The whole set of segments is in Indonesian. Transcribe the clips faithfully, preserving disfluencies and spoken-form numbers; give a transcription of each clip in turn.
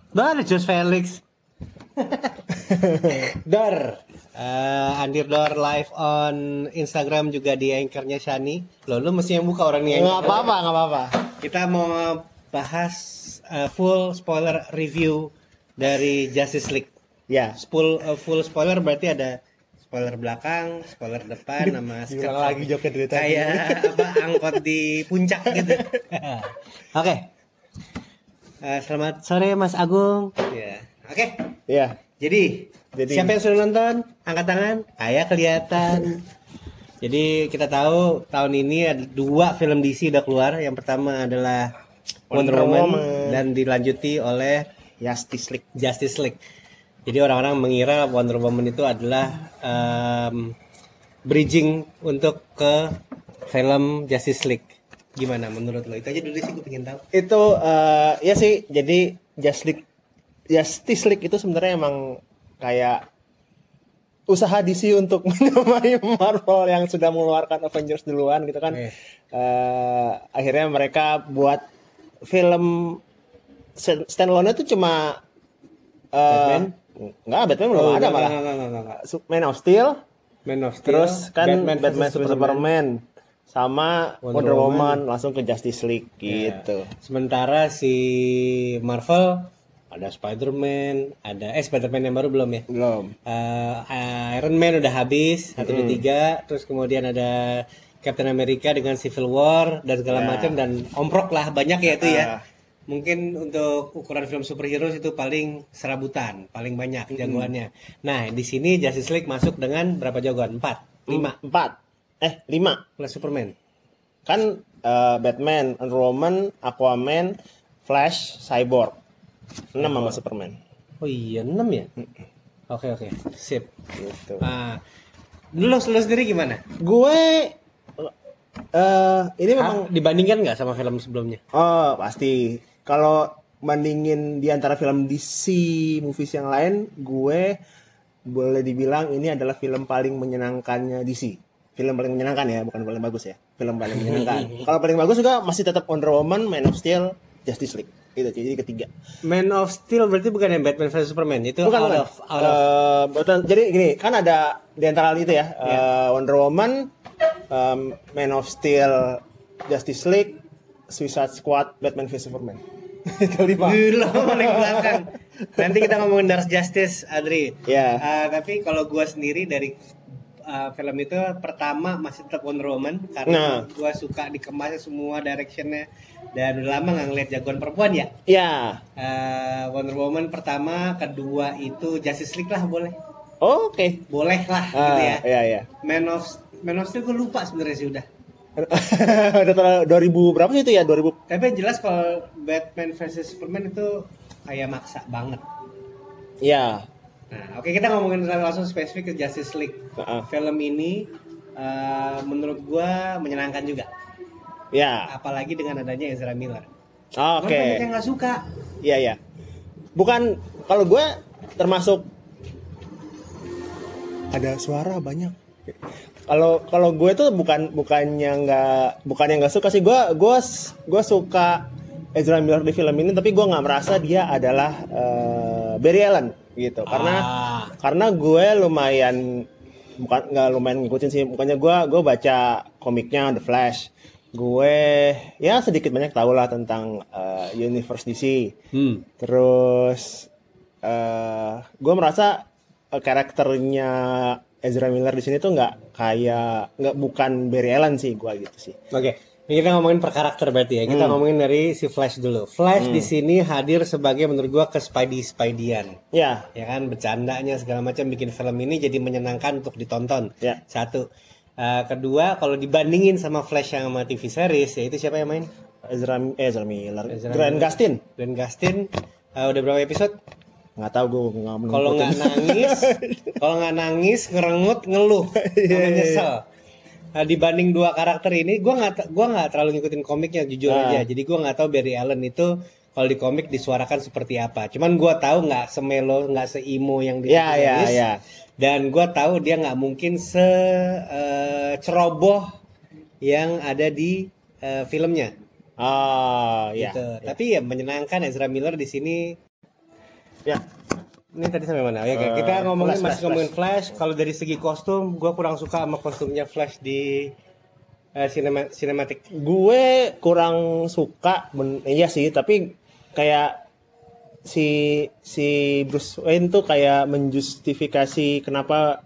Dor, Josh Felix. Dor. Uh, Andir Dor live on Instagram juga di anchornya Shani. Loh, lu mesti yang buka orang nih. Nggak apa-apa, nggak apa-apa. Kita mau bahas uh, full spoiler review dari Justice League. Ya. Full uh, full spoiler berarti ada spoiler belakang, spoiler depan, sama skirt lagi joket dari tadi. Kayak apa angkot di puncak gitu. Oke. Okay. Uh, selamat sore Mas Agung. Ya. Oke. Okay. Iya. Jadi, Jadi, siapa yang sudah nonton? Angkat tangan. Ayah kelihatan. Jadi kita tahu tahun ini ada dua film D C udah keluar. Yang pertama adalah Wonder, Wonder Woman, Woman dan dilanjuti oleh Justice League. Justice League. Jadi orang-orang mengira Wonder Woman itu adalah um, bridging untuk ke film Justice League. Gimana menurut lo? Itu aja dulu sih gue pengen tahu. Itu uh, ya sih. Jadi Justice League Justice League itu sebenarnya emang kayak usaha D C untuk menyamai Marvel yang sudah mengeluarkan Avengers duluan gitu kan. Eh. Uh, akhirnya mereka buat film standalone itu cuma uh, Batman? Enggak, Batman belum oh, ada enggak, malah. Enggak, enggak, enggak, enggak. Man of Steel. Man of Steel. Terus kan Batman, Batman Superman. Superman sama Wonder, Wonder Woman. Woman langsung ke Justice League gitu. Ya. Sementara si Marvel ada Spider-Man, ada eh Spider-Man yang baru belum ya? Belum. Uh, Iron Man udah habis satu dua tiga, terus kemudian ada Captain America dengan Civil War dan segala yeah. macam dan omprok lah banyak ya itu uh. ya. Mungkin untuk ukuran film superhero itu paling serabutan, paling banyak mm-hmm. jagoannya. Nah, di sini Justice League masuk dengan berapa jagoan? empat, lima. empat. Eh, lima. Plus Superman. Kan uh, Batman, Wonder Woman, Aquaman, Flash, Cyborg. enam sama Superman. Oh iya, enam ya? Oke, oke. Sip. Gitu. Ah, lu, lu sendiri gimana? Gue uh, ini memang ah, dibandingkan nggak sama film sebelumnya? Oh, pasti. Kalau bandingin di antara film D C movies yang lain, gue boleh dibilang ini adalah film paling menyenangkannya D C. Film paling menyenangkan ya, bukan paling bagus ya. Film paling menyenangkan. Kalau paling bagus juga masih tetap Wonder Woman, Man of Steel, Justice League. Itu jadi ketiga. Man of Steel berarti bukan yang Batman versus Superman itu bukan, out bukan. of out of uh, betul. Jadi gini, kan ada di antara itu ya, yeah. uh, Wonder Woman, um, Man of Steel, Justice League, Suicide Squad, Batman versus Superman. Itu lima. Gila, paling belakang. Nanti kita ngomongin Dark Justice, Adri. Ya. Yeah. Uh, tapi kalau gua sendiri dari uh, film itu pertama masih tetap Wonder Woman karena nah. gua suka dikemasnya semua directionnya. Dan udah lama nggak ngeliat jagoan perempuan ya? Iya. Uh, Wonder Woman pertama, kedua itu Justice League lah boleh. Oh, oke. Okay. Boleh lah ah, gitu ya. Iya iya. Man of Man of Steel gue lupa sebenarnya sih udah. Udah dua ribu berapa sih itu ya? dua ribu. Tapi jelas kalau Batman versus Superman itu kayak maksa banget. Iya. Nah, oke okay, kita ngomongin langsung spesifik ke Justice League. Uh-uh. Film ini uh, menurut gua menyenangkan juga. Ya. Apalagi dengan adanya Ezra Miller. Oh, oke. Okay. Banyak yang nggak suka. Iya iya. Bukan kalau gue termasuk ada suara banyak. Kalau kalau gue tuh bukan bukannya nggak bukannya nggak suka sih gue gue gue suka Ezra Miller di film ini tapi gue nggak merasa dia adalah uh, Barry Allen gitu karena ah. karena gue lumayan bukan nggak lumayan ngikutin sih bukannya gue gue baca komiknya The Flash. Gue ya sedikit banyak tahu lah tentang uh, universe D C. Hmm. Terus uh, gue merasa uh, karakternya Ezra Miller di sini tuh nggak kayak nggak bukan Barry Allen sih gue gitu sih. Oke, ini kita ngomongin per karakter berarti ya. Kita hmm. ngomongin dari si Flash dulu. Flash hmm. di sini hadir sebagai menurut gue ke Spidey Spidey-an. Ya. Ya kan bercandanya segala macam bikin film ini jadi menyenangkan untuk ditonton. Ya. Satu. Uh, kedua, kalau dibandingin sama Flash yang sama T V series, ya itu siapa yang main? Ezra, eh, Ezra Miller. Ezra Grant Miller. Gustin. Grant Gustin. Uh, udah berapa episode? Nggak tahu gue nggak menonton. Kalau nggak nangis, kalau nggak nangis, ngerengut, ngeluh, sama nyesel. Nah, dibanding dua karakter ini, gue nggak, gue nggak terlalu ngikutin komiknya jujur nah. aja. Jadi gue nggak tahu Barry Allen itu kalau di komik disuarakan seperti apa. Cuman gue tahu nggak semelo, nggak seimo yang di ya, ya, ya. Dan gue tahu dia nggak mungkin se uh, ceroboh yang ada di uh, filmnya. Oh, ya, gitu. ya. Tapi ya menyenangkan Ezra Miller di sini. Ya. Ini tadi sampai mana? Ya, uh, kita ngomongin flash, masih flash, ngomongin Flash. Flash. Kalau dari segi kostum, gue kurang suka sama kostumnya Flash di uh, cinema, cinematic. Gue kurang suka, ben, iya sih. Tapi kayak si si Bruce Wayne tuh kayak menjustifikasi kenapa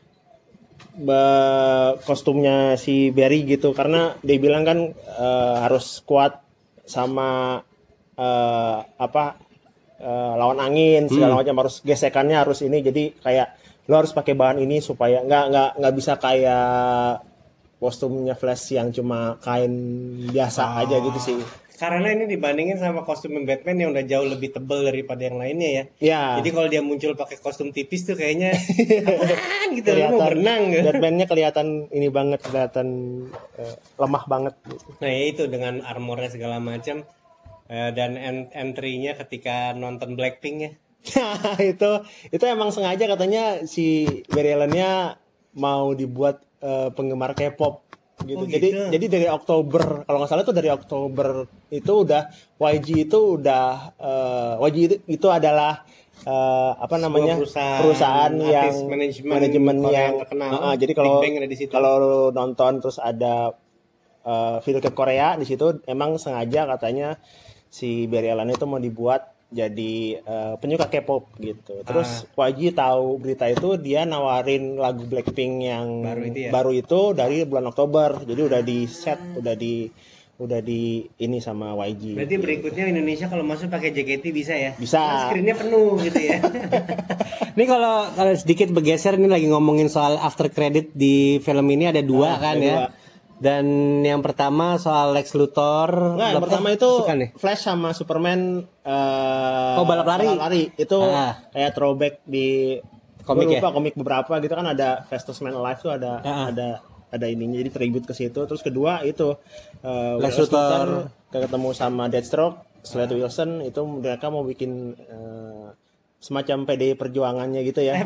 Ba, kostumnya si Barry gitu, karena dia bilang kan uh, harus kuat sama uh, apa uh, lawan angin segala hmm. macam, harus gesekannya harus ini, jadi kayak lo harus pakai bahan ini supaya nggak nggak nggak bisa kayak kostumnya Flash yang cuma kain biasa oh. aja gitu sih. Karena ini dibandingin sama kostum Batman yang udah jauh lebih tebal daripada yang lainnya ya. Iya. Jadi kalau dia muncul pakai kostum tipis tuh kayaknya apaan gitu, kelihatan, mau berenang gitu. Batman-nya kelihatan ini banget, kelihatan uh, lemah banget. Nah ya itu dengan armornya segala macam uh, dan ent- entry-nya ketika nonton Blackpink ya. itu itu emang sengaja katanya si Barry Allen-nya mau dibuat uh, penggemar K-pop. Gitu. Oh, jadi gitu. Jadi dari Oktober, kalau nggak salah itu dari Oktober itu udah Y G itu udah uh, Y G itu, itu adalah uh, apa namanya perusahaan, perusahaan yang manajemen, manajemen yang terkenal. Uh, uh, jadi kalau kalau nonton terus ada uh, video klip Korea di situ, emang sengaja katanya si Barry Allen itu mau dibuat jadi uh, penyuka K-pop gitu. Terus ah. Y G tahu berita itu, dia nawarin lagu Blackpink yang baru itu, ya? baru itu dari bulan Oktober. Jadi udah di set, udah di udah di ini sama Y G. Berarti berikutnya Indonesia kalau masuk pakai J K T bisa ya? Bisa. Nah, screen-nya penuh gitu ya. Ini kalau kalau sedikit bergeser, ini lagi ngomongin soal after credit di film ini ada dua ah, kan ada ya. Dua. Dan yang pertama soal Lex Luthor. Nah, yang pertama itu Flash sama Superman uh, oh balap lari. Balap lari itu ah. kayak throwback di komik lupa, ya? Komik beberapa gitu kan, ada Fastest Man Alive tuh ada ah. ada ada ininya, jadi tribute ke situ. Terus kedua itu uh, Lex Luthor ketemu sama Deathstroke, Slade ah. Wilson, itu mereka mau bikin uh, semacam P D I perjuangannya gitu ya.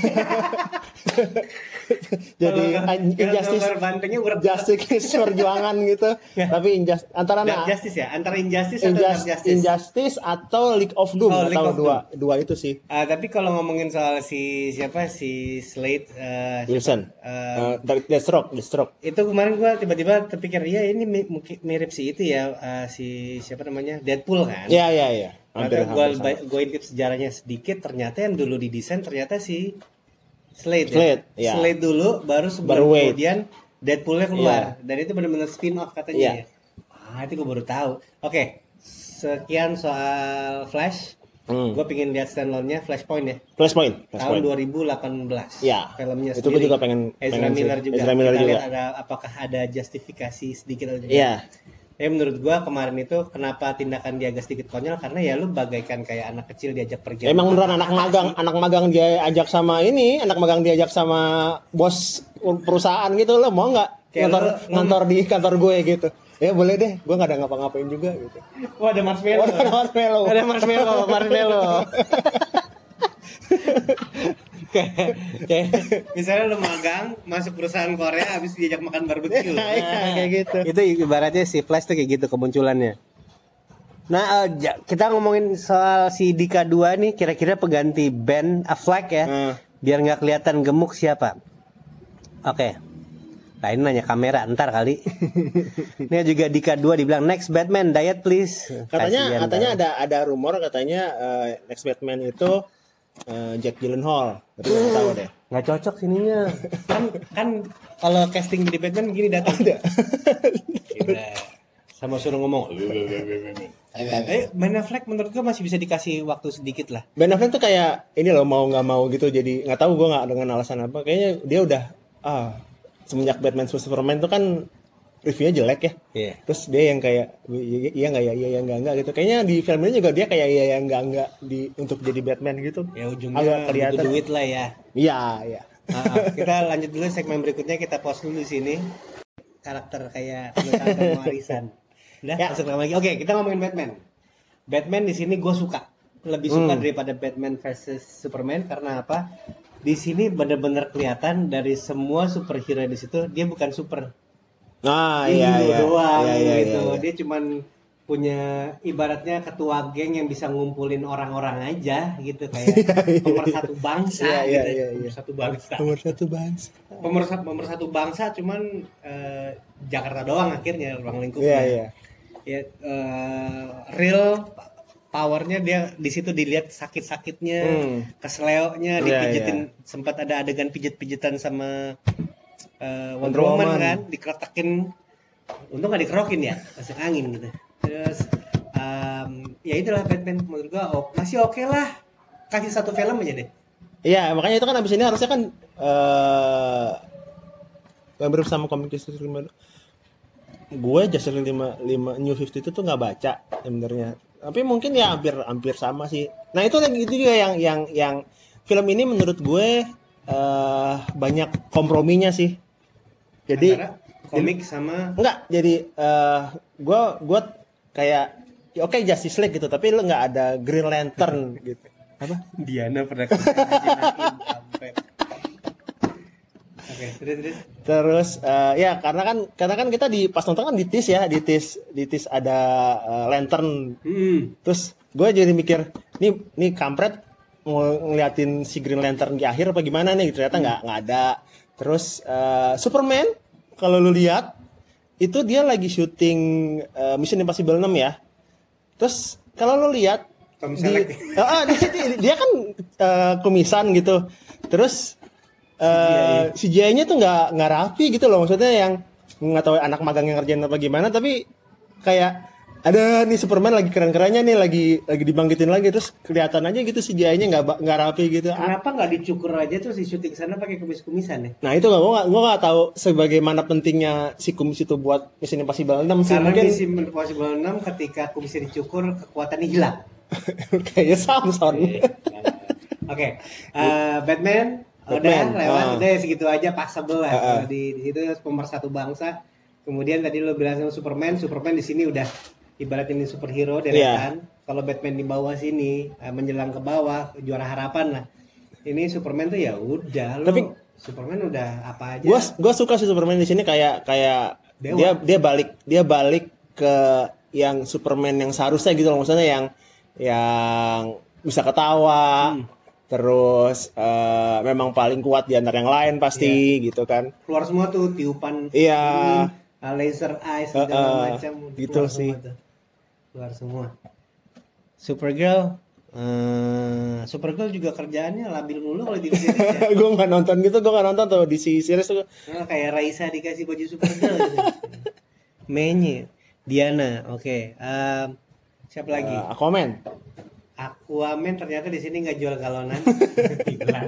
Jadi injustice justice perjuangan gitu. Tapi injustice antara nah, justice ya, antara injustice injustice, atau justice. Injustice atau League of Doom oh, atau of dua Doom. dua itu sih. Uh, tapi kalau ngomongin soal si siapa si Slade uh, Wilson, uh, uh, Deathstroke, Deathstroke. Itu kemarin gua tiba-tiba terpikir, iya ini mirip si itu ya, uh, si siapa namanya, Deadpool kan? Iya iya iya. Hampir, gue gue intip sejarahnya sedikit, ternyata yang dulu didesain ternyata si Slade, Slade, ya? ya. Slade dulu, baru sebulan kemudian Deadpoolnya keluar, ya. Dan itu benar-benar spin off katanya. Ya. Ah itu gue baru tahu. Oke, sekian soal Flash. Hmm. Gue pengen lihat standalone-nya Flashpoint ya. Flashpoint. Flashpoint. Tahun dua ribu delapan belas. Ya. Filmnya itu gue juga pengen. Ezra pengen Miller juga. Ezra Miller Kita juga. lihat ada apakah ada justifikasi sedikit atau tidak. Iya. Ya menurut gua kemarin itu kenapa tindakan dia agak sedikit konyol, karena ya lu bagaikan kayak anak kecil diajak pergi. Emang beneran anak magang, anak magang dia ajak sama ini, anak magang diajak sama bos perusahaan gitu, lo mau nggak ngantor ngantor di kantor gue gitu? Ya boleh deh, gue nggak ada ngapa-ngapain juga gitu. Wah ada marshmallow. Oh, ada marshmallow. Ada marshmallow, marshmallow. kayak, kayak misalnya lu magang masuk perusahaan Korea habis diajak makan barbecue. Nah, nah, kayak gitu. Itu ibaratnya si Flash tuh kayak gitu kemunculannya. Nah, uh, kita ngomongin soal si Dika dua nih, kira-kira pengganti Ben Affleck ya. Hmm. Biar nggak kelihatan gemuk siapa? Oke. Okay. Nah, ini nanya kamera ntar kali. Ini juga Dika dua dibilang next Batman diet please. Katanya Kasian katanya tahu. ada ada rumor katanya uh, next Batman itu Uh, Jack Gyllenhaal, tapi nggak tahu deh. Nggak cocok sininya. kan kan kalau casting jadi Batman gini datang. Ada. Sama suruh ngomong. eh Ben Affleck menurut gue masih bisa dikasih waktu sedikit lah. Ben Affleck tuh kayak ini loh, mau nggak mau gitu, jadi nggak tahu gue nggak dengan alasan apa. Kayaknya dia udah ah semenjak Batman versus Superman tuh kan reviewnya jelek ya. Yeah. Terus dia yang kayak iya nggak ya, iya ya nggak nggak gitu. Kayaknya di film ini juga dia kayak iya ya nggak nggak di untuk jadi Batman gitu. Ya ujungnya agak kelihatan duit lah ya. Iya iya. Uh, kita lanjut dulu segmen berikutnya, kita pause dulu di sini. Karakter kayak penulisan warisan. Udah, ya. Masuk lagi. Oke, kita ngomongin Batman. Batman di sini gue suka, lebih suka hmm. daripada Batman versus Superman karena apa? Di sini benar-benar kelihatan dari semua superhero di situ dia bukan super. Ah iya iya doang iya, iya, gitu. iya, iya. Dia cuman punya ibaratnya ketua geng yang bisa ngumpulin orang-orang aja gitu kayak pemersatu bangsa Iya, gitu. iya, iya. Pemersatu bangsa. Pemersatu bangsa. Pemersatu pemersatu bangsa cuman eh, Jakarta doang akhirnya ruang lingkupnya. Iya, iya. Ya eh, real powernya dia di situ dilihat sakit-sakitnya, Hmm. keseleoknya, Iya, dipijitin iya. sempat ada adegan pijet-pijetan sama eh, Wonder Wonder Woman Woman. kan, dikeretakin, untung nggak dikerokin ya, masuk angin gitu. Terus em, ya itulah Batman menurut gua oh, masih oke lah, kasih satu film aja deh. Iya, makanya itu kan abis ini harusnya kan eh hampir sama komik Justice League lima. Gue Justice League lima, lima New fifty itu tuh nggak baca sebenarnya. Tapi mungkin ya hampir hampir sama sih. Nah, itu lagi itu juga yang yang yang film ini menurut gue eh banyak komprominya sih. Jadi Antara komik sama enggak, jadi eh gue gue kayak ya oke Justice League gitu, tapi lu nggak ada Green Lantern gitu. Apa? Diana pernah imajinain sampai. Oke, terus terus. Terus eh, ya karena kan karena kan kita di pas nonton kan di tease ya, di tease di tease ada eh, lantern. Hmm. Terus gue jadi mikir, nih nih kampret mau ngeliatin si Green Lantern di akhir apa gimana nih? Ternyata nggak nggak ada. Terus eh, Superman kalau lu lihat itu dia lagi syuting eh, Mission Impossible enam ya. Terus kalau lu lihat Tom di, Selleck. ah, di- di- dia kan eh, kumisan gitu. Terus eh C G I-nya tuh nggak nggak rapi gitu loh, maksudnya yang nggak tahu anak magang yang ngerjain apa gimana, tapi kayak ada nih Superman lagi keren-kerennya nih, lagi lagi dibangkitin lagi, terus kelihatan aja gitu C G I-nya nggak ba- nggak rapi gitu. Ah, Kenapa nggak dicukur aja terus di syuting sana pakai kumis-kumisan ya? nah itu nggak gue nggak gue nggak tahu sebagaimana pentingnya si kumis itu buat Mission Impossible enam sih. Karena Mungkin Mission Impossible enam ketika kumisnya dicukur kekuatannya hilang. kayaknya Samson. Oke, eh, Batman, Batman, udah lewat, ah. udah segitu aja passable lah. Ah, ah. Kalau di, di situ pemersatu bangsa. Kemudian tadi lo bilang sama Superman, Superman di sini udah ibarat ini superhero deretan. Kalau Batman di bawah sini eh, menjelang ke bawah juara harapan lah. Ini Superman tuh ya udah lo. Tapi- Superman udah apa aja. Gue gue suka sih Superman di sini kayak kayak Dewa. dia dia balik dia balik ke yang Superman yang seharusnya gitu loh, maksudnya yang yang bisa ketawa, terus eh, memang paling kuat di antara yang lain pasti gitu kan. Keluar semua tuh tiupan Iya. angin, uh, laser eyes segala Uh, uh, macam gitu keluar sih. semua tuh. Keluar semua. Supergirl eh, Supergirl juga kerjaannya labil mulu kalau di series ya. Gue nggak nonton gitu, gue nggak nonton tuh di si series tuh. Nah, kayak Raisa dikasih baju Supergirl gitu. Mainnya Diana, oke. Em, siapa lagi? Eh, Aquaman. Aquaman ternyata di sini nggak jual galonan. Gila.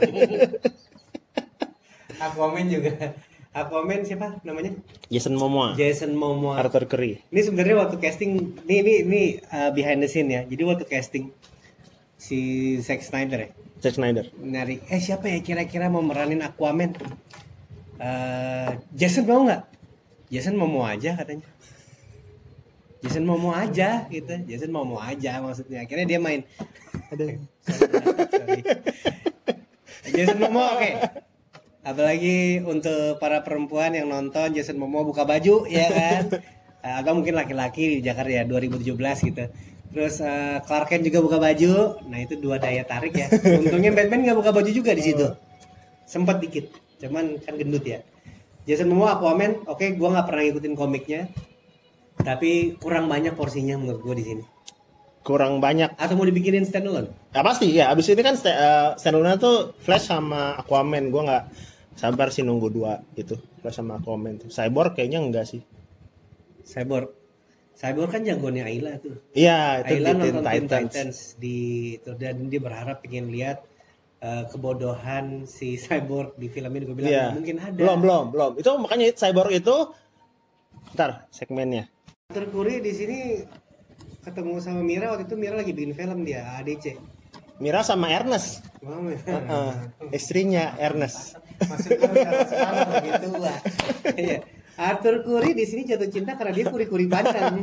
Aquaman juga. Aquaman siapa namanya? Jason Momoa. Jason Momoa. Arthur Curry. Ini sebenarnya waktu casting, ini ini ini uh, behind the scene ya. Jadi waktu casting si Zack Snyder ya, Zack Snyder. nyari eh siapa ya kira-kira mau meranin Aquaman? Eh, Jason mau nggak? Jason Momoa aja katanya. Jason Momoa aja gitu. Jason Momoa aja maksudnya. Akhirnya dia main. Ada. Sorry. Jason Momoa oke. Apalagi untuk para perempuan yang nonton Jason Momoa buka baju ya kan. Eh, Agak mungkin laki-laki di Jakarta ya dua ribu tujuh belas gitu. Terus eh, Clark Kent juga buka baju. Nah, itu dua daya tarik ya. Untungnya Batman nggak buka baju juga di situ. Sempat dikit. Cuman kan gendut ya. Jason Momoa Aquaman, oke gua nggak pernah ngikutin komiknya. Tapi kurang banyak porsinya menurut gua di sini. Kurang banyak. Atau mau dibikinin standalone? Ya pasti ya. Abis ini kan st- uh, standalone tuh Flash sama Aquaman. Gue nggak sabar sih nunggu dua itu, Flash sama Aquaman tuh. Cyborg kayaknya enggak sih. Cyborg. Cyborg kan jagoannya Ayla tuh. Iya, itu Ayla di Teen nonton Teen Titans. Titans di itu dan dia berharap pengen lihat eh, kebodohan si Cyborg di film ini. Gue bilang Iya. "Nggak mungkin ada. Belum, belum, belum. Itu makanya Cyborg itu ntar segmennya. Arthur Curry di sini ketemu sama Mira waktu itu Mira lagi bikin film dia A D C. Mira sama Ernest. Wow, Heeh, istrinya Ernest. maksudnya Mira sekarang begitu lah. Iya. Arthur Curry di sini jatuh cinta karena dia kuri-kuri Bandung.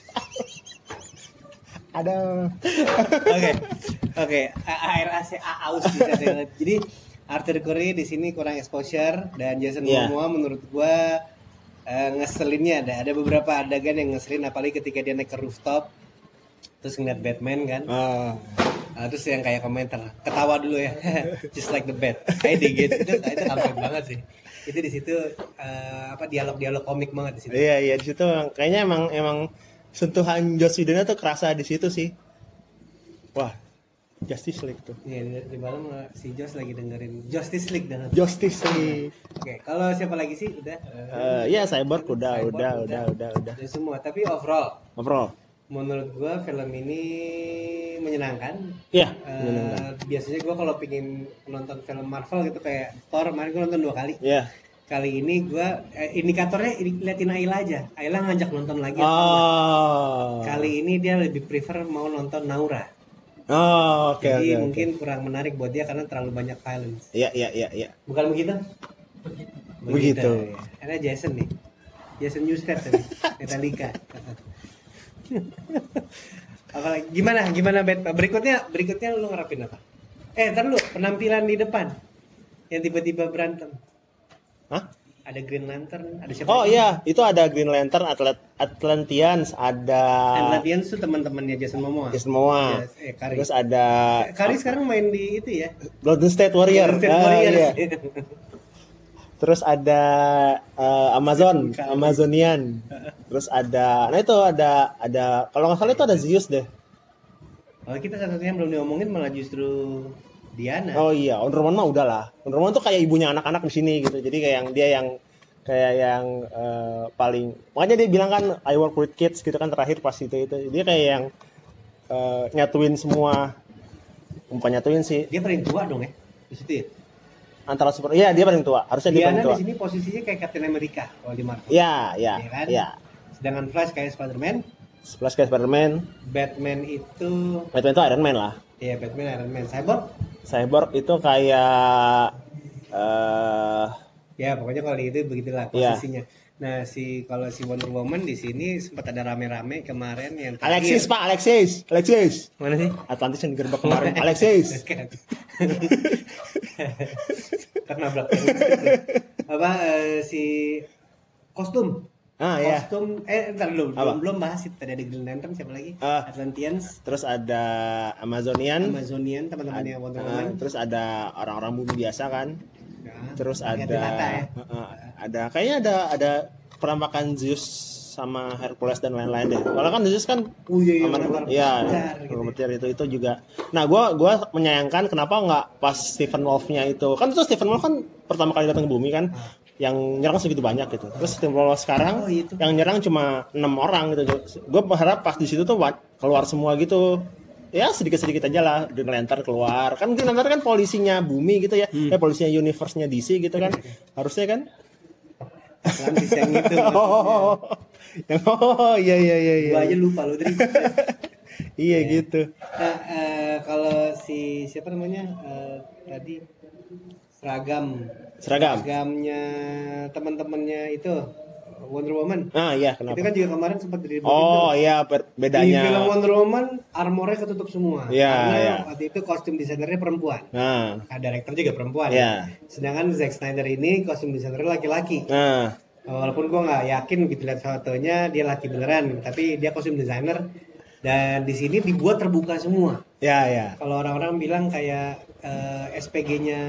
Ada. Oke, oke. A- Air A C A aus bisa deh. Jadi Arthur Curry di sini kurang exposure dan Jason Iya. Momoa menurut gua uh, ngeselinnya ada ada beberapa adegan yang ngeselin, apalagi ketika dia naik ke rooftop terus ngeliat Batman kan. Ah. Uh, terus yang kayak komentar ketawa dulu ya, just like the bat, I dig it. itu itu kampret banget sih. Itu di situ uh, apa dialog-dialog komik banget di situ. Iya iya di situ kayaknya emang emang sentuhan Joss Whedon tuh kerasa di situ sih. Wah, Justice League tuh. Iya di, di malam si Joss lagi dengerin Justice League dan Justice League. Oke, okay. Kalau siapa lagi sih? Udah. Uh, ya Cyborg udah Cyborg udah udah udah udah. Udah semua, tapi overall. Overall. Menurut gua film ini menyenangkan. Iya, uh, menyenangkan. Biasanya gua kalau pingin nonton film Marvel gitu kayak Thor, kemarin gua nonton dua kali. Iya. Kali ini gua eh, indikatornya liatin Ayla aja. Ayla ngajak nonton lagi. Oh. Kali ini dia lebih prefer mau nonton Naura. Oh, oke okay, Jadi okay, mungkin okay. kurang menarik buat dia karena terlalu banyak violence. Iya, iya, iya, iya. Bukan begitu? Begitu. Begitu. Begitu. Ya. Karena Jason nih. Jason Newsted tadi. Metallica. Apalagi gimana? Gimana bet? Berikutnya berikutnya lu ngerapin apa? Eh, ntar lu penampilan di depan yang tiba-tiba berantem. Hah? Ada Green Lantern, ada siapa? Oh iya, itu ada Green Lantern, Atlet Atlanteans, ada Atlanteans tuh teman-temannya Jason Momoa. Jason Momoa. Yes, eh, Kari. Terus ada Kari sekarang main di itu ya. Golden State Warrior. Golden State ah, Warriors. iya. Terus ada uh, Amazon, Amazonian. Terus ada, nah itu ada ada kalau nggak salah itu ada Zeus deh. Kalau kita satu-satunya belum diomongin malah justru Diana. Oh iya, Wonder Woman mah udah lah. Wonder Woman tuh kayak ibunya anak-anak di sini gitu. Jadi kayak yang dia yang kayak yang uh, paling, makanya dia bilang kan I work with kids gitu kan terakhir pas itu itu. Dia kayak yang uh, nyatuin semua, bukan nyatuin sih. Dia paling tua dong ya di situ ya. Antara super, iya dia paling tua. Harusnya dia paling tua. Diana di sini posisinya kayak Captain America kalau di Marvel. Iya, iya, ya kan? iya. Sedangkan Flash kayak Spider-Man. Flash kayak Spider-Man. Batman itu Batman itu Iron Man lah. Iya, Batman Iron Man. Cyborg? Cyborg itu kayak uh, ya pokoknya kalau itu begitulah posisinya. Yeah. Nah, si kalau si Wonder Woman di sini sempat ada rame-rame kemarin yang terakhir. Alexis Pak, Alexis, Alexis. Mana sih? Atlantis yang digerebek kemarin. Alexis. Karena belakang. Apa uh, si kostum? Ah, kostum ya. eh entar dulu belum belum bahas itu. Tadi ada Green Lantern, siapa lagi? Uh, Atlanteans. Terus ada Amazonian. Amazonian teman-temannya Ad, Wonder uh, Woman. Terus ada orang-orang bumi biasa kan. Ya, terus ada ya. uh, uh, ada kayaknya ada ada penampakan Zeus sama Hercules dan lain-lain deh. Kalau kan Zeus kan oh, iya, iya, aman, ya, gitu. itu itu juga. Nah, gua gua menyayangkan kenapa nggak pas Stephen Wolf-nya itu. Kan itu Stephen Wolf kan pertama kali datang ke bumi kan. Ah. Yang nyerang segitu banyak gitu. Terus Stephen Wolf sekarang oh, itu. Yang nyerang cuma enam orang gitu. Gue berharap pas di situ tuh keluar semua gitu. Ya sedikit-sedikit aja lah Green Lantern keluar. Kan Green Lantern kan polisinya bumi gitu ya. Hmm. Eh polisinya universe-nya D C gitu kan. Harusnya kan. Atlantis yang itu. Oh, yang oh iya iya iya iya. Gua aja lupa lu tadi. Iya ya. Gitu. Nah, uh, kalau si siapa namanya? Uh, tadi seragam. Seragam. Seragamnya teman-temannya itu Wonder Woman. Ah iya, kenapa? Itu kan juga kemarin sempat di Oh itu. Iya, bedanya. Di film Wonder Woman armornya ketutup semua. Iya, karena iya. waktu itu kostum desainernya perempuan. Nah, nah director juga perempuan. Iya. Sedangkan Zack Snyder ini kostum desainernya laki-laki. Nah. Walaupun gua nggak yakin begitu lihat fotonya dia laki beneran, tapi dia kostum desainer dan di sini dibuat terbuka semua. Ya, ya. Kalau orang-orang bilang kayak uh, S P G-nya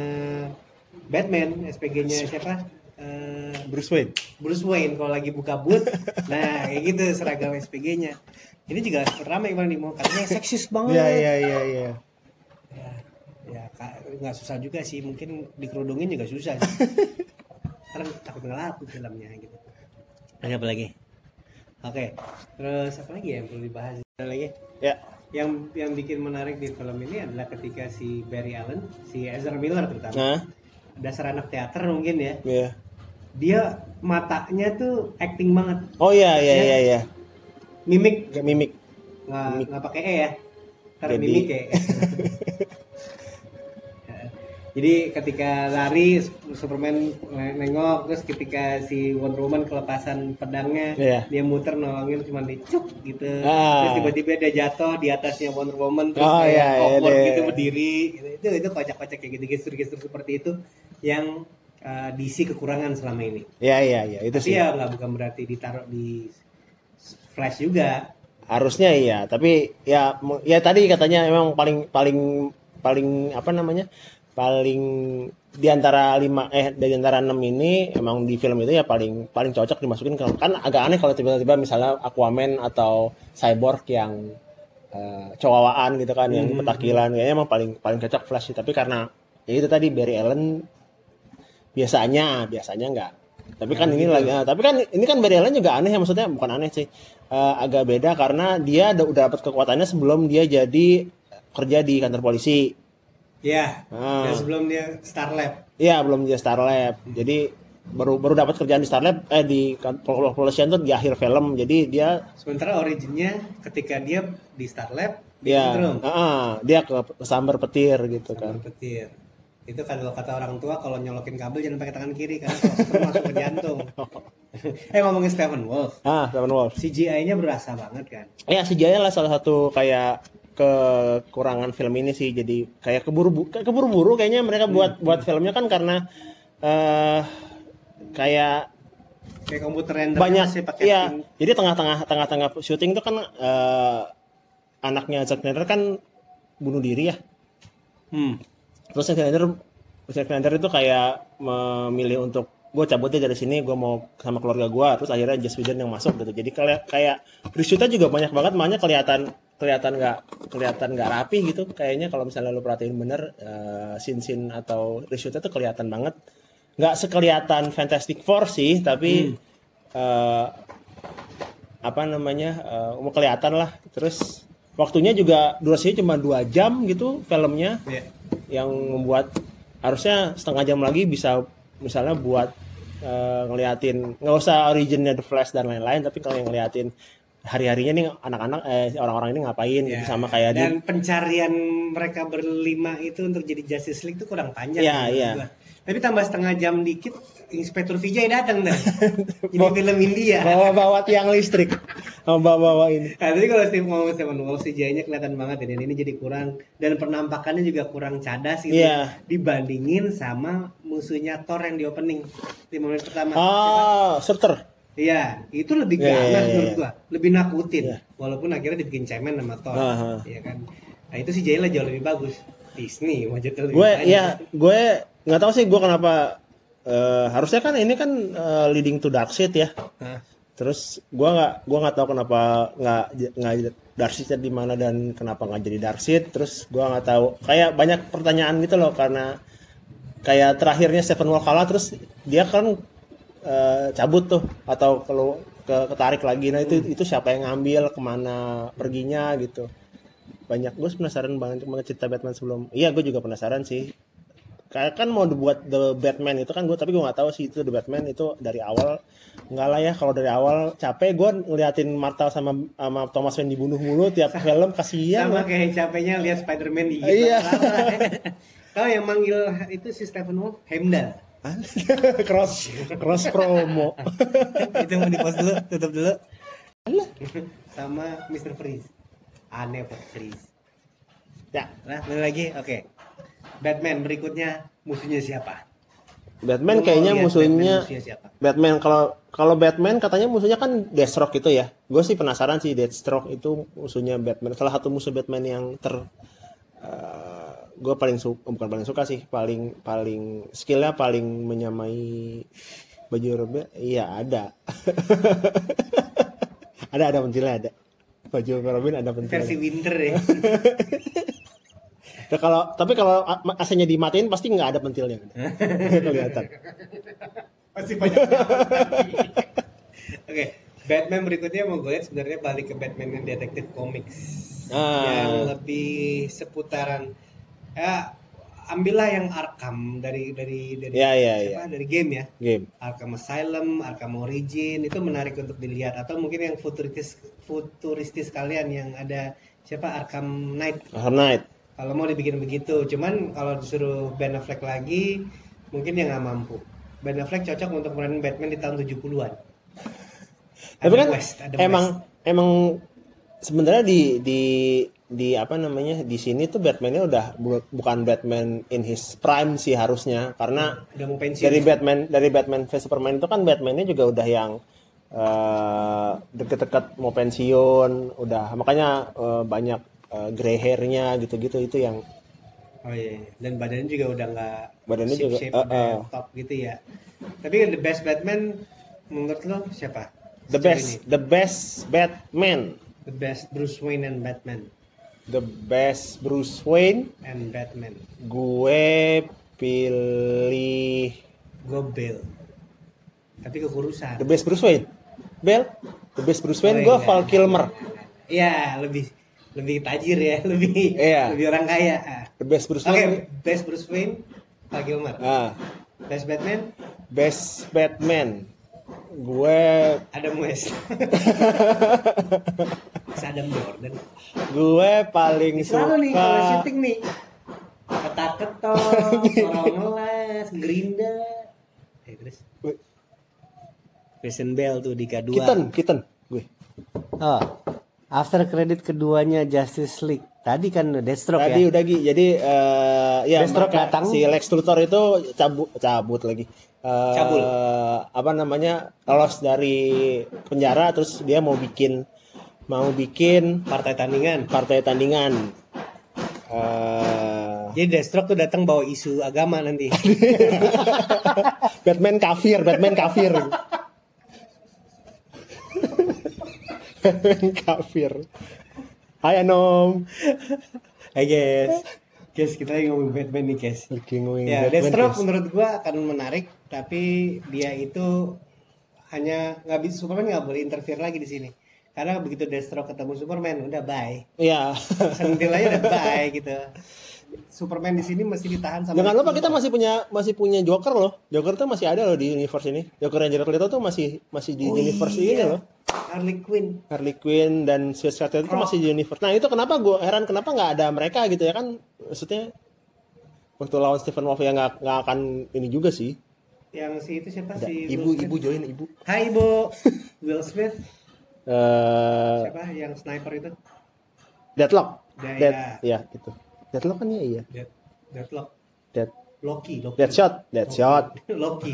Batman, S P G-nya siapa? Uh, Bruce Wayne. Bruce Wayne kalau lagi buka boot, nah kayak gitu seragam S P G-nya. Ini juga ramai bang nih mau katanya seksis banget. Iya iya iya iya. Ya, ya nggak susah juga sih, mungkin dikerudungin juga susah sih. Karena takut ngelaku filmnya gitu. Ada apa lagi? Oke, terus apa lagi ya yang perlu dibahas? Ada lagi? Ya. Yang yang bikin menarik di film ini adalah ketika si Barry Allen, si Ezra Miller terutama. Nah. Dasar anak teater mungkin ya. Iya. Dia matanya tuh acting banget. Oh iya iya iya iya. Mimik, Gak mimik. Nggak nggak pakai e ya. Karena Jadi... mimik ya. Jadi ketika lari Superman nengok, terus ketika si Wonder Woman kelepasan pedangnya, yeah. dia muter nolongin cuma dicuk gitu. Ah. Terus tiba-tiba dia jatuh di atasnya Wonder Woman terus oh, kayak yeah, awkward yeah, gitu yeah. berdiri gitu. Itu itu kocak-kocak kayak gitu, gestur-gestur seperti itu yang uh, D C kekurangan selama ini. Iya iya iya itu Tapi sih. ya nggak bukan berarti ditaruh di Flash juga. Harusnya iya, tapi ya ya tadi katanya emang paling paling paling apa namanya? Paling di antara lima eh dari antara enam ini emang di film itu ya paling paling cocok dimasukin ke, kan agak aneh kalau tiba-tiba misalnya Aquaman atau Cyborg yang uh, cowawaan gitu kan, yang Hmm. petakilan, kayaknya emang paling paling cocok Flash sih. Tapi karena ya itu tadi Barry Allen biasanya biasanya enggak. Tapi kan Nah, ini gitu. lagi, nah, tapi kan ini kan Barry Allen juga aneh ya, maksudnya bukan aneh sih, Eh, agak beda karena dia udah, udah dapat kekuatannya sebelum dia jadi kerja di kantor polisi. Ya. Ah. Dan sebelum dia Star Lab. Iya, belum jadi Star Lab. Jadi baru baru dapat kerjaan di Star Lab eh di kantor kepolisian tuh di akhir film. Jadi dia Sementara originnya ketika dia di Star Lab, ya disetrum ah, dia ke sambar petir gitu sama kan. petir. Itu kalau kata orang tua kalau nyolokin kabel jangan pakai tangan kiri karena kalau setrum masuk ke jantung. eh ngomongin Stephen Wolf, Ah, Steppenwolf. C G I-nya berasa banget kan. Ya, sejarah lah salah satu kayak kekurangan film ini sih. Jadi kayak keburu keburu-buru kayaknya mereka buat Hmm. buat filmnya kan karena eh kayak Kayak komputer render banyak sih pakai iya. tim. Jadi tengah-tengah tengah-tengah syuting itu kan eh, anaknya Zack Snyder kan bunuh diri ya. Hmm. Terus Zack Snyder Zack Snyder itu kayak memilih untuk gue cabut deh dari sini, gue mau sama keluarga gue. Terus akhirnya Joss Whedon yang masuk gitu. Jadi kayak kayak reshootnya juga banyak banget, makanya kelihatan kelihatan nggak kelihatan nggak rapi gitu. Kayaknya kalau misalnya lo perhatiin bener uh, scene-scene atau reshootnya tuh kelihatan banget. Nggak sekelihatan Fantastic Four sih, tapi uh, apa namanya uh, mau kelihatan lah. Terus waktunya juga durasinya cuma dua jam gitu filmnya, Ya. yang membuat harusnya setengah jam lagi bisa misalnya buat uh, ngeliatin, nggak usah originnya The Flash dan lain-lain, tapi kalau yang ngeliatin hari-harinya nih anak-anak eh orang-orang ini ngapain Ya. gitu, sama kayak di Dan pencarian mereka berlima itu untuk jadi Justice League itu kurang panjang. Iya, menurut iya. gua. Tapi tambah setengah jam dikit, Inspektur Vijay datang dah. Ini film India. bawa-bawa tiang listrik, bawa-bawa ini. Nah, tadi kalau Steve ngomong Stephen Wolf, C G I-nya kelihatan banget ya. Dan ini jadi kurang, dan penampakannya juga kurang cadas gitu. Iya. Dibandingin sama musuhnya Thor yang di opening lima menit pertama. Ah, Surtur. Iya, itu lebih Iya, ganas iya, iya, menurut iya. gua, lebih nakutin. Iya. Walaupun akhirnya dibikin cemen sama Thor, Aha. iya kan. Nah itu C G I lah jauh lebih bagus. Disney budget lebih Gue banyak. ya, gue nggak tahu sih gue kenapa eh, harusnya kan ini kan eh, leading to Darkseid ya. Hah? Terus gue nggak gue nggak tahu kenapa nggak nggak Darkseid di mana dan kenapa nggak jadi Darkseid. Terus gue nggak tahu, kayak banyak pertanyaan gitu loh, karena kayak terakhirnya Steppenwolf kalah terus dia kan eh, cabut tuh atau kalau ke ketarik lagi. Nah itu itu siapa yang ngambil, kemana perginya gitu. Banyak, gue penasaran banget banget cerita Batman sebelum. Iya, gue juga penasaran sih. Kayak kan mau dibuat The Batman itu kan gue, tapi gue nggak tahu sih itu The Batman itu dari awal. Nggak lah ya, kalau dari awal capek gue ngeliatin Marta sama sama Thomas Wayne dibunuh mulu tiap film, kasihan. Sama lah. kayak capeknya lihat Spider-Man di Iya. Tahu yang manggil itu si Stephen Wolf, Heimdall. cross cross promo. Itu mau di-post dulu, tutup dulu. Sama mister Freeze. Aneh Pak Freeze. Ya, Nah, balik lagi. Oke. Batman berikutnya musuhnya siapa? Lu Batman mau kayaknya lihat musuhnya Batman musuhnya siapa? Batman kalau kalau Batman katanya musuhnya kan Deathstroke gitu ya. Gue sih penasaran sih Deathstroke itu musuhnya Batman. Salah satu musuh Batman yang ter uh, gue paling suka, bukan paling suka sih, paling paling skillnya paling menyamai baju Robin. Iya ada. ada ada pentilnya ada. Baju Robin ada pentilnya. Versi Winter ya. Nah, kalau tapi kalau A C-nya dimatiin pasti nggak ada pentilnya. Kelihatan. Pasti banyak. Oke, Batman berikutnya mau gue lihat sebenarnya balik ke Batman yang detektif comics. Ah. Yang lebih seputaran ya, ambillah yang Arkham dari dari dari Ya, ya, siapa? ya. Dari game ya. Game. Arkham Asylum, Arkham Origin itu menarik untuk dilihat, atau mungkin yang futuristis futuristis kalian yang ada siapa Arkham Knight. Arkham Knight. Kalau mau dibikin begitu, cuman kalau disuruh Ben Affleck lagi mungkin dia nggak mampu. Ben Affleck cocok untuk meranin Batman di tahun tujuh puluhan. Tapi kan West, ada emang West. emang sebenarnya di di di apa namanya di sini tuh Batman-nya udah bu- bukan Batman in his prime sih harusnya, karena Udah mau pensiun. dari Batman dari Batman v Superman itu kan Batman-nya juga udah yang eh, deket-deket mau pensiun, udah makanya eh, banyak eh, gray hair-nya gitu-gitu, itu yang Oh iya, iya. Dan badannya juga udah nggak Badannya shape juga, shape eh, udah eh. yang top gitu ya. Tapi the best Batman menurut lo siapa? the Sejauh best ini? the best Batman, The best Bruce Wayne and Batman the best Bruce Wayne, and Batman. gue pilih Gue Bale. Tapi kekurusan. the best Bruce Wayne. Bel, the best Bruce Wayne, Oh, gue enggak, Val enggak, Kilmer. enggak, enggak. Iya, lebih lebih tajir ya, lebih Iya. lebih orang kaya. Ah. The best Bruce Oke, Wayne. best Bruce Wayne, Val Kilmer. Ah, Best Batman, best Batman, gue Adam West. Adam Jordan. gue paling Selalu nih kalau suka syuting nih. Ketak-ketok, sorong ngelas, gerinda. Eh, terus Christian Bale tuh di kedua. Keaton, Keaton, gue. Oh, after credit keduanya Justice League. Tadi kan Deathstroke Tadi ya. udah Gi. Jadi eh, ya Deathstroke mereka- datang. si Lex Luthor itu cabut cabut lagi. Eh, Cabul. Apa namanya? Lolos dari penjara, terus dia mau bikin mau bikin Partai tandingan. partai tandingan. Eh, Jadi Deathstroke tuh datang bawa isu agama nanti. Batman kafir, Batman kafir. Batman kafir. Hai Anom. Hai guys. Guys, kita lagi ngomongin Batman nih guys. Lagi ngomongin Ya, Batman, Deathstroke guys. menurut gua akan menarik, tapi dia itu hanya nggak bisa, Superman nggak boleh interfere lagi di sini. Karena begitu Deathstroke ketemu Superman, udah bye. Iya. Sentil aja udah bye gitu. Superman di sini mesti ditahan sama. Jangan lupa kita masih punya masih punya Joker loh. Joker tuh masih ada loh di universe ini. Joker yang Jared Leto tuh masih masih di Oh universe iya. ini loh. Harley Quinn. Harley Quinn dan Suicide Squad itu Croc. masih di universe. Nah itu kenapa gue heran kenapa nggak ada mereka gitu ya kan? Maksudnya waktu lawan Stephen Wolf ya nggak nggak akan ini juga sih. Yang si itu siapa Ada si ibu Will Smith? ibu join ibu. Hai Ibu. Will Smith. Eh Siapa yang sniper itu? Deadlock. Ya, Dead, ya. ya gitu. Deadlock kan ya iya. Dead, Deadlock. Dead, Loki, Loki. Deadshot, Deadshot. Loki.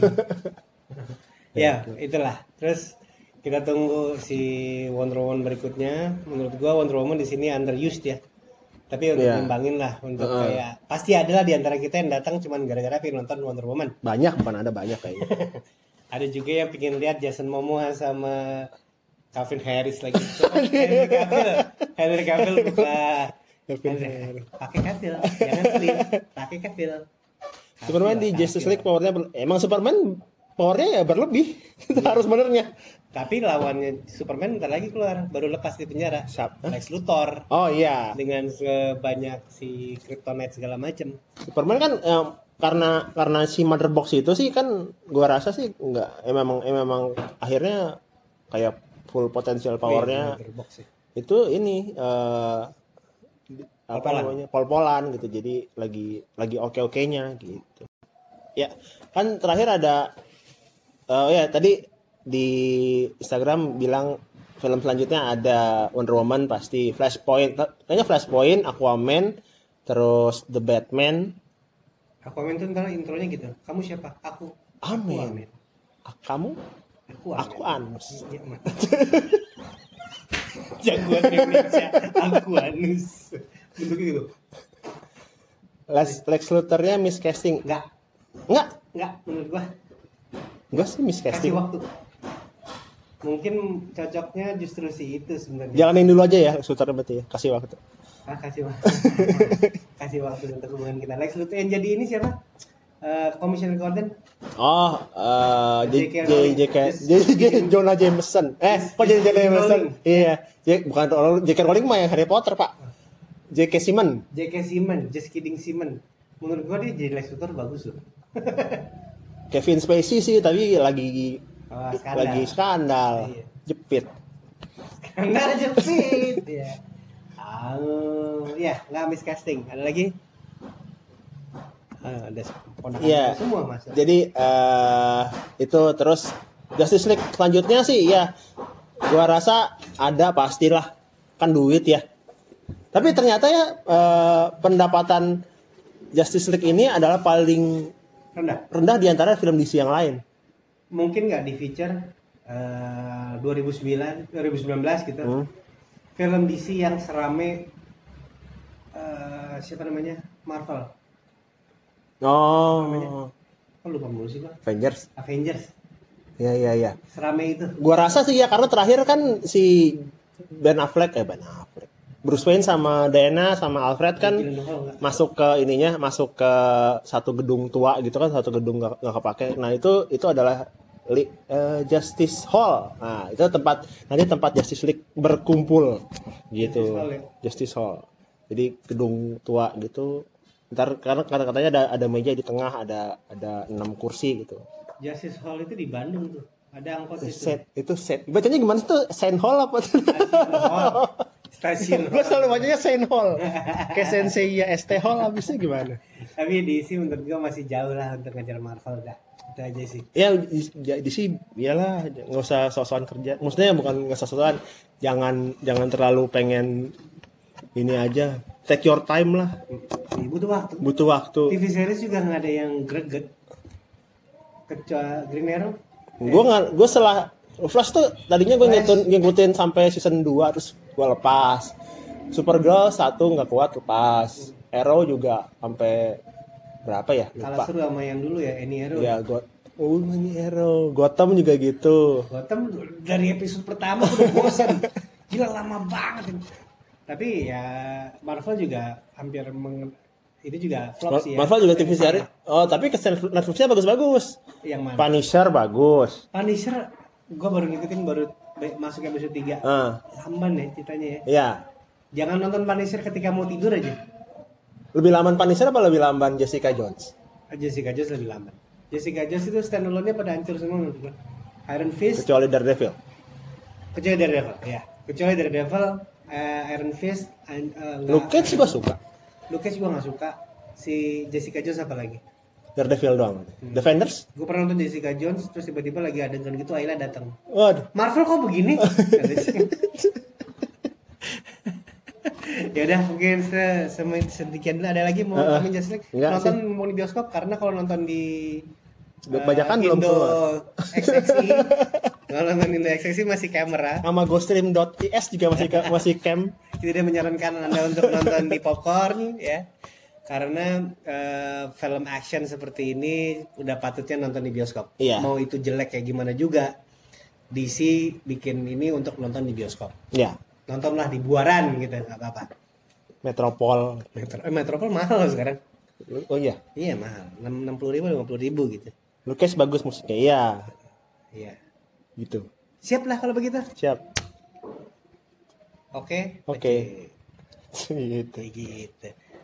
Ya, itulah. Terus kita tunggu si Wonder Woman berikutnya. Menurut gua Wonder Woman di sini underused ya. Tapi untuk Iya. ngembangin lah untuk Heeh. kayak pasti ada lah di antara kita yang datang cuman gara-gara pengen nonton Wonder Woman. Banyak bukan ada banyak kayaknya. Ada juga yang pengen lihat Jason Momoa sama Calvin Harris lagi. Henry Cavill, Henry Cavill buka. Calvin Henry- Pakai Cavill, jangan slim. Pakai Cavill. Superman di Cavill, Justice Cavill. League powernya ber- emang Superman powernya ya berlebih. Itu harus benernya. Tapi lawannya Superman bentar lagi keluar, baru lepas di penjara. Siap. Lex Luthor Oh iya. dengan sebanyak si Kryptonite segala macem. Superman kan eh, karena karena si Mother Box itu sih kan gua rasa sih enggak eh, memang eh, memang akhirnya kayak full potensial powernya Wih, box sih. itu ini eh apa Pol-polan. namanya pol-polan gitu, jadi lagi lagi oke-okenya gitu ya kan. Terakhir ada eh ya tadi di Instagram bilang film selanjutnya ada Wonder Woman pasti, Flashpoint kayaknya Flashpoint, Aquaman, terus The Batman. Aquaman tuh ntar intronya gitu. Kamu siapa? Aku. Aku Amin. Ah, kamu Aku aku Anus. Iya, Mat. Jagoan Indonesia. Aku Anus. Bentuknya gitu. Lex, Lex Luthor-nya miscasting. Enggak, Enggak, enggak menurut gua. enggak sih Kasih miscasting. waktu. Mungkin cocoknya justru si itu sebenarnya. Jalanin dulu aja ya Lex Luthor berarti ya, kasih waktu. Ah, kasih waktu. Kasih waktu untuk hubungan kita. Lex Luthor yang jadi ini siapa? Eh, Commissioner Gordon. Oh, eh J J K J Rowling. J K J J Jonah Jameson. Eh, kok jadi Jonah Jameson? Rowling. Iya, J bukan Rowling, J K Rowling mah yang Harry Potter, Pak. J K Simmons. J K Simmons, just kidding Simmons. Menurut gua dia jadi Lex Luthor bagus loh. Kevin Spacey sih tapi lagi Oh, skandal. lagi skandal. Iya. Jepit. Skandal jepit. Ya. Oh, ya, nggak miscasting. Ada lagi? Ah, ada ponakan Iya. semua mas. Jadi eh itu terus Justice League selanjutnya sih ya gua rasa ada pastilah, kan duit ya. Tapi ternyata ya uh, pendapatan Justice League ini adalah paling rendah rendah di antara film D C yang lain. Mungkin nggak di feature uh, dua ribu sembilan dua ribu sembilan belas gitu. Hmm. Film D C yang serame uh, siapa namanya? Marvel. Oh. Namanya? Oh, lupa mulu sih, Bang. Avengers. Avengers. Ya ya ya. Serame itu. Gua rasa sih ya karena terakhir kan si Ben Affleck eh Ben Affleck. Bruce Wayne sama Diana sama Alfred kan masuk ke ininya, masuk ke satu gedung tua gitu kan, satu gedung gak, gak kepake. Nah itu itu adalah li, uh, Justice Hall. Nah itu tempat nanti tempat Justice League berkumpul gitu. Justice Hall, ya? Justice Hall. Jadi gedung tua gitu. Ntar karena kata-katanya ada ada meja di tengah, ada ada enam kursi gitu. Justice Hall itu di Bandung tuh. Ada angkot itu. Set, itu set. Bacanya gimana tuh? Saint Hall apa tuh? Hall. Stasiun. Gue selalu bacanya Saint Hall. Kayak Sensei ya S T Hall habisnya gimana? Tapi D C menurut gue masih jauh lah untuk ngejar Marvel dah. Itu aja sih. Ya D C iyalah nggak usah sok-sokan kerja. Maksudnya bukan nggak sok-sokan, jangan jangan terlalu pengen ini aja. Take your time lah. Butuh waktu. Butuh waktu. T V series juga nggak ada yang greget. Kecuali Green Arrow. Gue nggak, gue setelah Flash tuh tadinya gue ngikutin, ngikutin sampai season dua terus gue lepas. Supergirl satu nggak kuat lepas. Arrow juga sampai berapa ya? Kalah seru sama yang dulu ya, Any Arrow. Ya, got Oh, ini Arrow. Gotham juga gitu. Gotham dari episode pertama udah bosan. Gila lama banget. Tapi ya Marvel juga hampir meng... itu juga flop sih ya. Marvel juga T V series. Oh, tapi ke Netflix-nya bagus-bagus. Yang mana? Punisher bagus. Punisher gue baru ngikutin baru masuk episode tiga. Uh. Lamban ya ceritanya ya. Iya. Jangan nonton Punisher ketika mau tidur aja. Lebih lamban Punisher apa lebih lamban Jessica Jones? Jessica Jones lebih lamban. Jessica Jones itu standalone-nya pada hancur semua menurut gue. Iron Fist. Kecuali Daredevil. Kecuali Daredevil, ya. Kecuali Daredevil, uh, Iron Fist, uh, Luke Cage juga suka. Luke Cage gue nggak suka. Si Jessica Jones apa lagi? Daredevil doang. Hmm. Defenders? Gue pernah nonton Jessica Jones, terus tiba-tiba lagi adegan gitu, Ayla datang. Waduh. Marvel kok begini? Ya udah mungkin se sedikit dulu. Ada lagi mau uh, kami Justice League nonton sih. Mau di bioskop karena kalau nonton di kebanyakan uh, belum keluar. X X I kalau nonton Indo X X I masih kamera. Sama gostream dot i s juga masih masih cam. Tidak menyarankan Anda untuk nonton di popcorn ya. Karena uh, film action seperti ini udah patutnya nonton di bioskop. Iya. Mau itu jelek kayak gimana juga, D C bikin ini untuk nonton di bioskop. Iya. Nontonlah di Buaran gitu, nggak apa-apa. Metropol. Metro, eh, Metropol mahal loh sekarang. Oh iya. Iya mahal, enam puluh ribu, lima puluh ribu gitu. Lucas bagus musiknya, iya. Iya. Gitu. Siap lah kalau begitu. Siap. Oke. Oke. Okay. Gitu. gitu.